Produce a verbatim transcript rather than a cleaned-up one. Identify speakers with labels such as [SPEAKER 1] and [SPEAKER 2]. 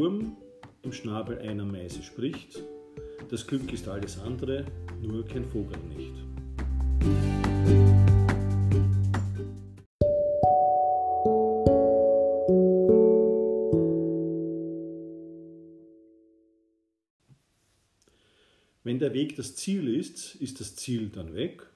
[SPEAKER 1] Wurm im Schnabel einer Meise spricht, das Glück ist alles andere, nur kein Vogel nicht. Wenn der Weg das Ziel ist, ist das Ziel dann weg?